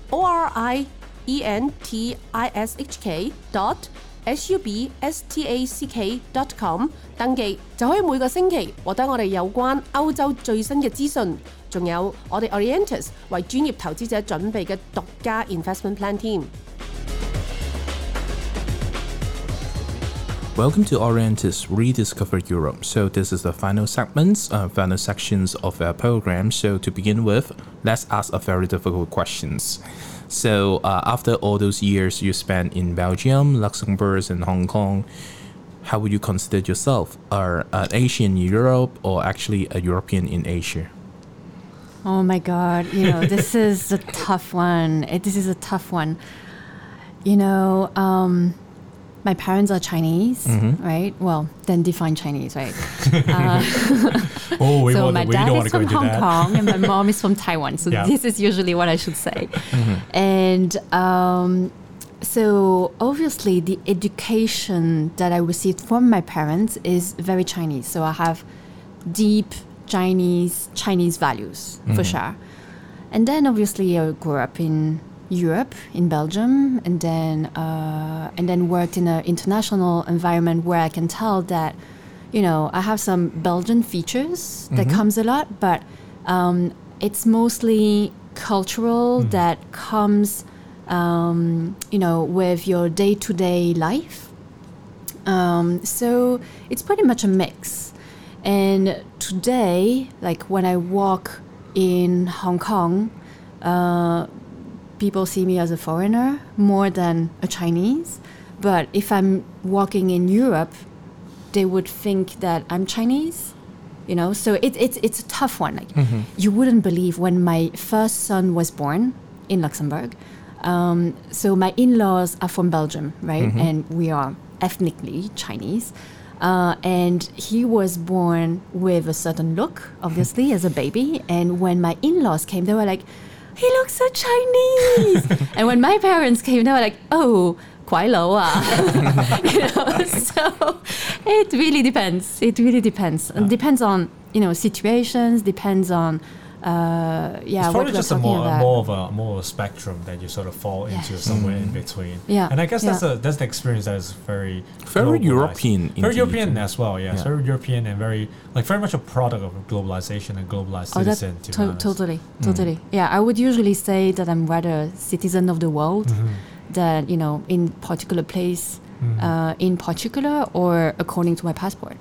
orientishk.substack.com 登記，就可以每個星期獲得我哋有關歐洲最新嘅資訊，仲有我哋 Orientus 為專業投資者準備嘅獨家 investment plan 添。 Welcome to Orientus Rediscover Europe. So this is the final final sections of our program. So to begin with, let's ask a very difficult questions. So after all those years you spent in Belgium, Luxembourg, and Hong Kong, how would you consider yourself? An Asian in Europe or actually a European in Asia? Oh my God, this is a tough one. This is a tough one. My parents are Chinese, right? Well, then define Chinese, right? So my dad is from Hong Kong and my mom is from Taiwan. So this is usually what I should say. And so obviously the education that I received from my parents is very Chinese. So I have deep Chinese values for sure. And then obviously I grew up in Europe, in Belgium, and then worked in an international environment where I can tell that, I have some Belgian features that comes a lot, but it's mostly cultural that comes, with your day-to-day life. So it's pretty much a mix. And today, like when I walk in Hong Kong, people see me as a foreigner more than a Chinese. But if I'm walking in Europe, they would think that I'm Chinese, So it's a tough one. Like you wouldn't believe when my first son was born in Luxembourg. So my in-laws are from Belgium, right? And we are ethnically Chinese. And he was born with a certain look, obviously, as a baby. And when my in-laws came, they were like, he looks so Chinese. And when my parents came, they were like, oh, 怪佬啊. So it really depends. It depends on, situations, depends on, it's probably just more of a spectrum that you sort of fall into somewhere in between. Yeah. And I guess that's the experience that is very European. Very European as well, yeah. It's very European and very much a product of globalization and globalized citizen. Totally. Yeah, I would usually say that I'm rather a citizen of the world than, in particular place, in particular, or according to my passport.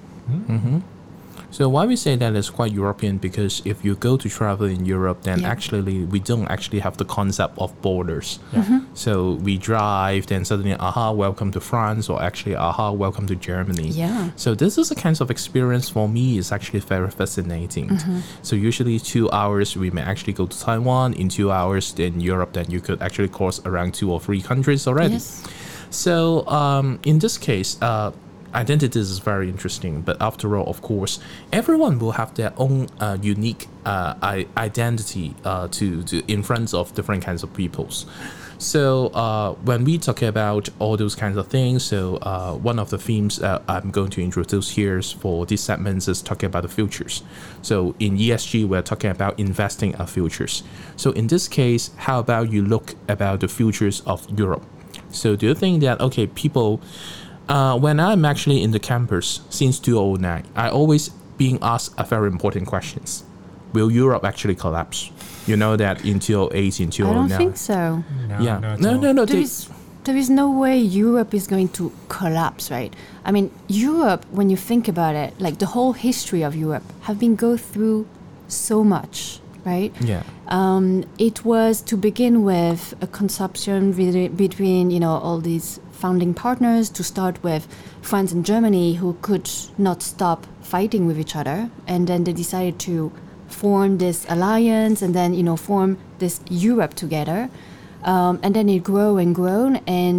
So why we say that is quite European, because if you go to travel in Europe, then actually we don't actually have the concept of borders. So we drive, then suddenly, welcome to France, or actually, welcome to Germany. Yeah. So this is a kind of experience for me is actually very fascinating. So usually 2 hours, we may actually go to Taiwan. In 2 hours in Europe, then you could actually cross around 2 or 3 countries already. Yes. So in this case, identity is very interesting, but after all, of course, everyone will have their own unique identity to in front of different kinds of peoples. So when we talk about all those kinds of things, so one of the themes I'm going to introduce here for these segments is talking about the futures. So in ESG, we're talking about investing our futures. So in this case, how about you look about the futures of Europe? So do you think that, okay, people... when I'm actually in the campus since 2009, I always being asked a very important questions. Will Europe actually collapse? You know that in 2008, in 2009. I don't think so. No. There is no way Europe is going to collapse, right? I mean, Europe, when you think about it, like the whole history of Europe have been go through so much, right? Yeah. It was to begin with a consumption between, all these founding partners, to start with France and Germany, who could not stop fighting with each other, and then they decided to form this alliance and then form this Europe together, and then it grew and grown, and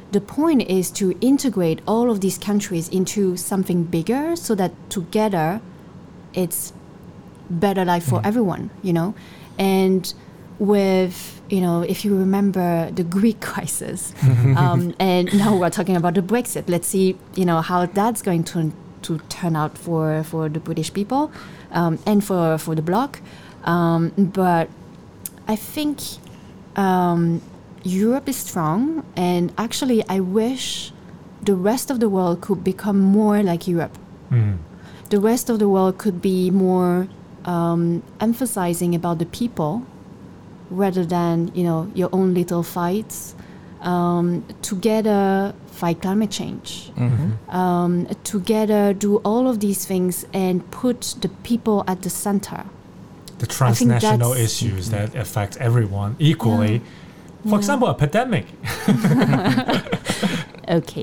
the point is to integrate all of these countries into something bigger so that together it's better life for everyone, you know. And with, you know, if you remember the Greek crisis, and now we're talking about the Brexit, let's see, you know, how that's going to turn out for the British people, and for the bloc. But I think Europe is strong, and actually I wish the rest of the world could become more like Europe. The rest of the world could be more emphasizing about the people rather than, you know, your own little fights. Together fight climate change. Together do all of these things and put the people at the center. The transnational issues that affect everyone equally. For example, a pandemic. Okay.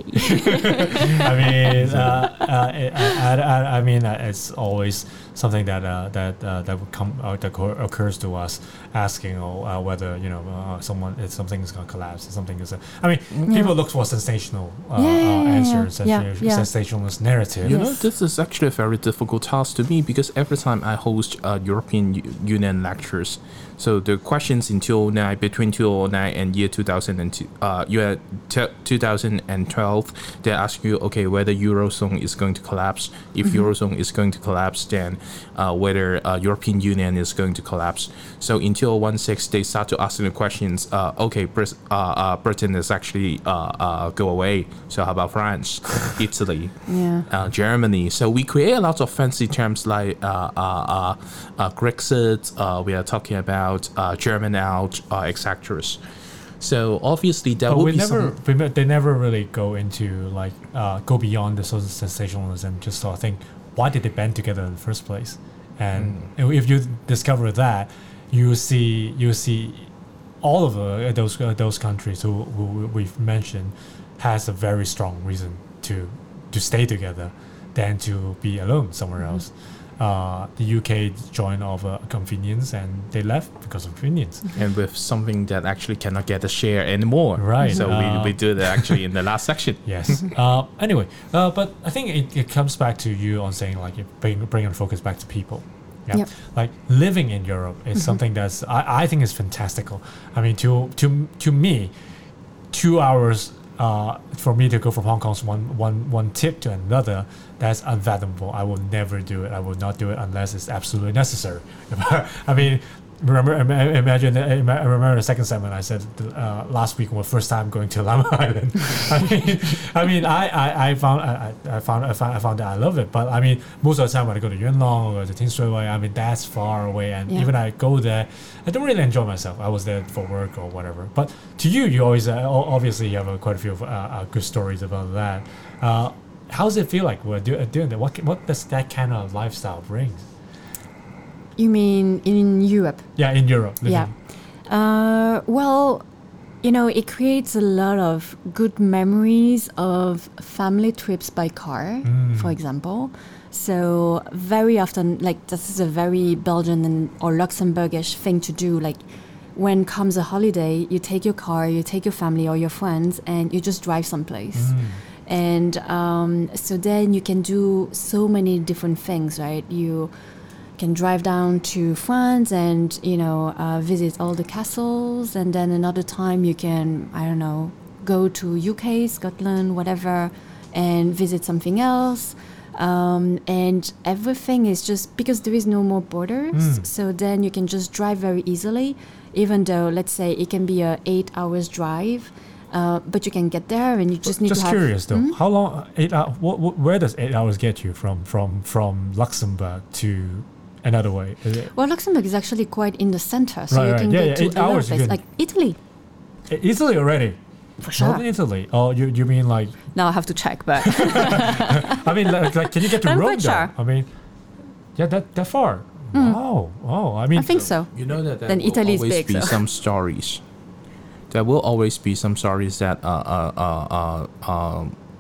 I mean, it's always something that would come that occurs to us, asking whether, you know, something is going to collapse. Something is. People look for sensational answers, sensationalist narrative. You know, this is actually a very difficult task to me because every time I host European Union lectures, so the questions in 2009, between 2009 and year 2012, they ask you, okay, whether Eurozone is going to collapse. If Eurozone is going to collapse, then whether European Union is going to collapse. So in 2016, they start to ask the questions, okay, Britain is actually go away. So how about France, Italy, Germany? So we create a lot of fancy terms like Brexit, we are talking about German out, etc. So obviously that will be they never really go into like go beyond the sort of sensationalism. Just sort of think, why did they band together in the first place? And if you discover that, you see all of those countries who we've mentioned has a very strong reason to stay together than to be alone somewhere else. The UK joined over convenience, and they left because of convenience. And with something that actually cannot get a share anymore. Right. So we do that actually in the last section. Yes. Anyway, but I think it comes back to you on saying like bringing focus back to people. Yeah. Yep. Like living in Europe is something that's I think is fantastical. I mean, to me, 2 hours for me to go from Hong Kong's one tip to another, that's unfathomable. I will never do it. I will not do it unless it's absolutely necessary. I mean, imagine. I remember the second segment I said last week, was first time going to Lamma Island. I found that I love it. But I mean, most of the time when I go to Yuen Long or to Tin Shui Wai, I mean that's far away, and even I go there, I don't really enjoy myself. I was there for work or whatever. But to you always obviously you have quite a few good stories about that. How does it feel like we're doing that? What does that kind of lifestyle bring? You mean in Europe? Yeah, in Europe. Yeah. Well, you know, it creates a lot of good memories of family trips by car, for example. So very often, like this is a very Belgian or Luxembourgish thing to do. Like when comes a holiday, you take your car, you take your family or your friends, and you just drive someplace. And so then you can do so many different things, right? You can drive down to France and, you know, visit all the castles. And then another time you can, I don't know, go to UK, Scotland, whatever, and visit something else. And everything is just because there is no more borders. So then you can just drive very easily, even though, let's say, it can be a 8 hours drive. But you can get there, and you just need to have... Just curious, though. How long... 8 hours... Where does 8 hours get you from Luxembourg to another way? Well, Luxembourg is actually quite in the center, so you can get to 8 hours, places. Like Italy. Italy already? For sure. Not in Italy. Oh, you mean like... Now I have to check, but... I mean, like can you get to I'm Rome, quite sure. I mean, yeah, that far. Wow. Oh, I mean... I think so. You know that then will Italy is always big, be so. some stories. There will always be some stories that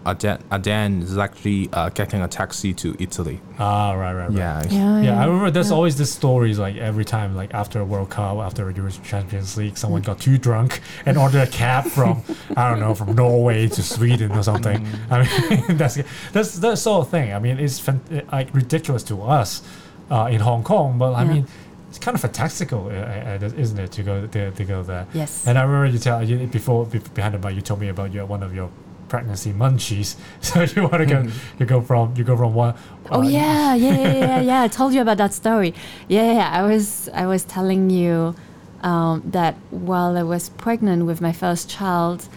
Adan is actually getting a taxi to Italy. Ah, right. Yeah. Yeah, I remember there's always this stories like every time, like after a World Cup, after a European Champions League, someone got too drunk and ordered a cab from I don't know, from Norway to Sweden or something. I mean, that's that sort of thing. I mean, it's like ridiculous to us in Hong Kong, but I mean, it's kind of fantastical, isn't it, to go there? Yes. And I remember behind the mic, you told me about one of your pregnancy munchies. So you want to go, you go from one. Yeah. I told you about that story. Yeah. I was telling you that while I was pregnant with my first child,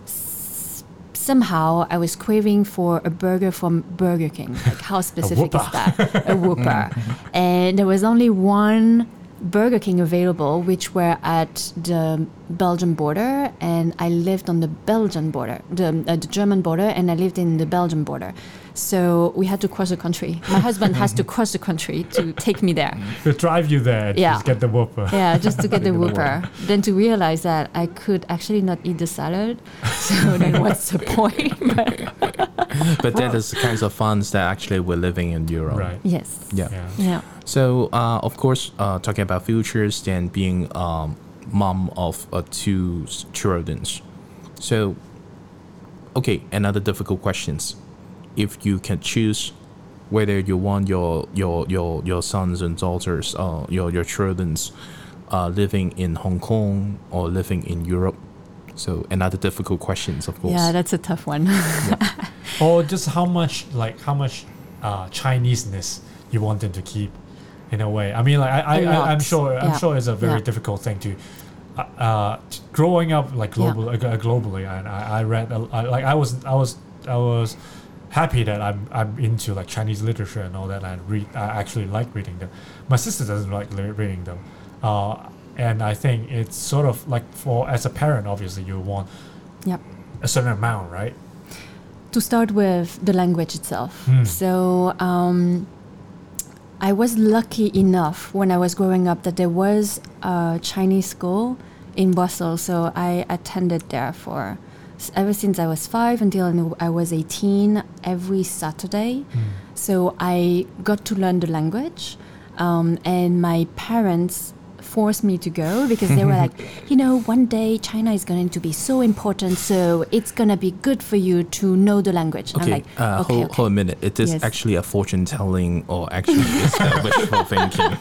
somehow I was craving for a burger from Burger King. Like, how specific is that? A Whopper. And there was only one Burger King available, which were at the Belgian border, and I lived on the Belgian border, the German border, and I lived in the Belgian border. So we had to cross the country. My husband has to cross the country to take me there. To drive you there, just get the Whopper. Yeah, just to get the Whopper. Then to realize that I could actually not eat the salad. So then what's the point? But that is the kinds of funds that actually we're living in Europe. Right. Yes. Yeah. So, of course, talking about futures and being mom of 2 children. So, okay, another difficult questions. If you can choose whether you want your sons and daughters, your children, living in Hong Kong or living in Europe. So another difficult questions, of course. Yeah, that's a tough one. Or just how much Chineseness you want them to keep, in a way. I mean, like I'm sure it's a very difficult thing to. Growing up globally, and I read I was happy that I'm into like Chinese literature and all that, and I actually like reading them. My sister doesn't like reading them, and I think it's sort of like as a parent, obviously you want a certain amount, right? To start with the language itself. So I was lucky enough when I was growing up that there was a Chinese school in Brussels, so I attended there for ever since I was 5 until I was 18 every Saturday. So I got to learn the language, and my parents forced me to go because they were like, one day China is going to be so important, so it's going to be good for you to know the language. And okay, I'm like, okay. Hold a minute. It is actually a fortune telling, or actually it's wishful thinking.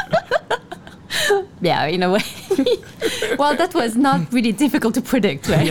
Yeah, in a way. Well, that was not really difficult to predict, right?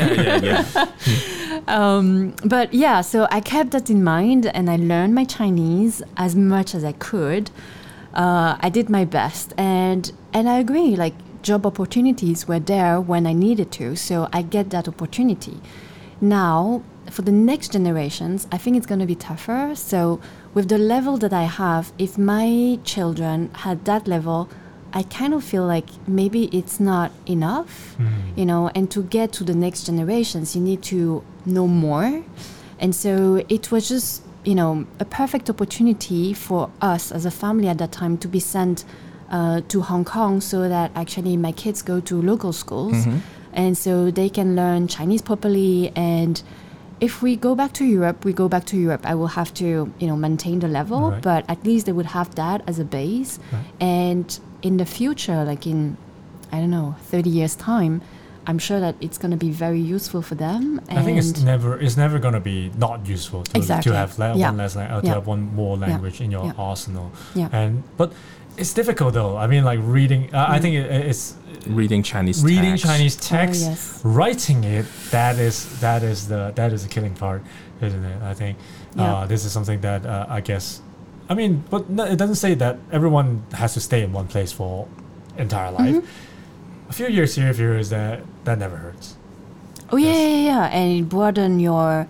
Yeah. But yeah, so I kept that in mind and I learned my Chinese as much as I could. I did my best, and I agree, like, job opportunities were there when I needed to, so I get that opportunity. Now, for the next generations, I think it's going to be tougher. So with the level that I have, if my children had that level, I kind of feel like maybe it's not enough, and to get to the next generations, you need to know more. And so it was just, a perfect opportunity for us as a family at that time to be sent to Hong Kong so that actually my kids go to local schools and so they can learn Chinese properly. And if we go back to Europe, I will have to, maintain the level, but at least they would have that as a base. And in the future, like in, 30 years time, I'm sure that it's going to be very useful for them. And I think it's never going to be not useful to have one less to have one more language in your arsenal. But it's difficult though. I mean, like reading. I think it's reading Chinese. Chinese text, writing it. That is the killing part, isn't it? I think this is something that I guess. I mean, but it doesn't say that everyone has to stay in one place for entire life. A few years here, a few years there, that never hurts. Oh yeah, and it broadens your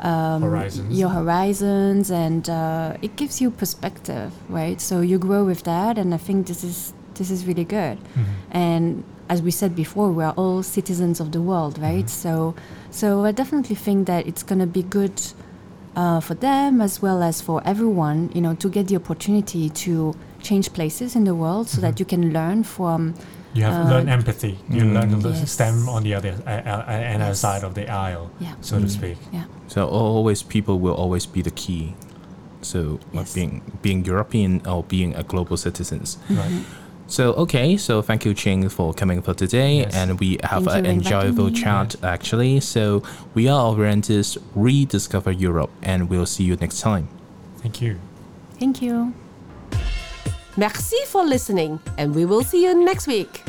horizons, and it gives you perspective, right? So you grow with that, and I think this is really good. And as we said before, we are all citizens of the world, right? So I definitely think that it's gonna be good for them as well as for everyone, to get the opportunity to change places in the world so that you can learn from You have learned empathy. You learn to Yes. stand on the other side of the aisle, Yeah. so to speak. Yeah. So always people will always be the key. So Yes. being European or being a global citizens. Right. So okay, so thank you, Ching, for coming for today, Yes. and we have Thank an you for inviting enjoyable me. chat actually. So we are Orientists, rediscover Europe, and we'll see you next time. Thank you. Thank you. Merci for listening, and we will see you next week.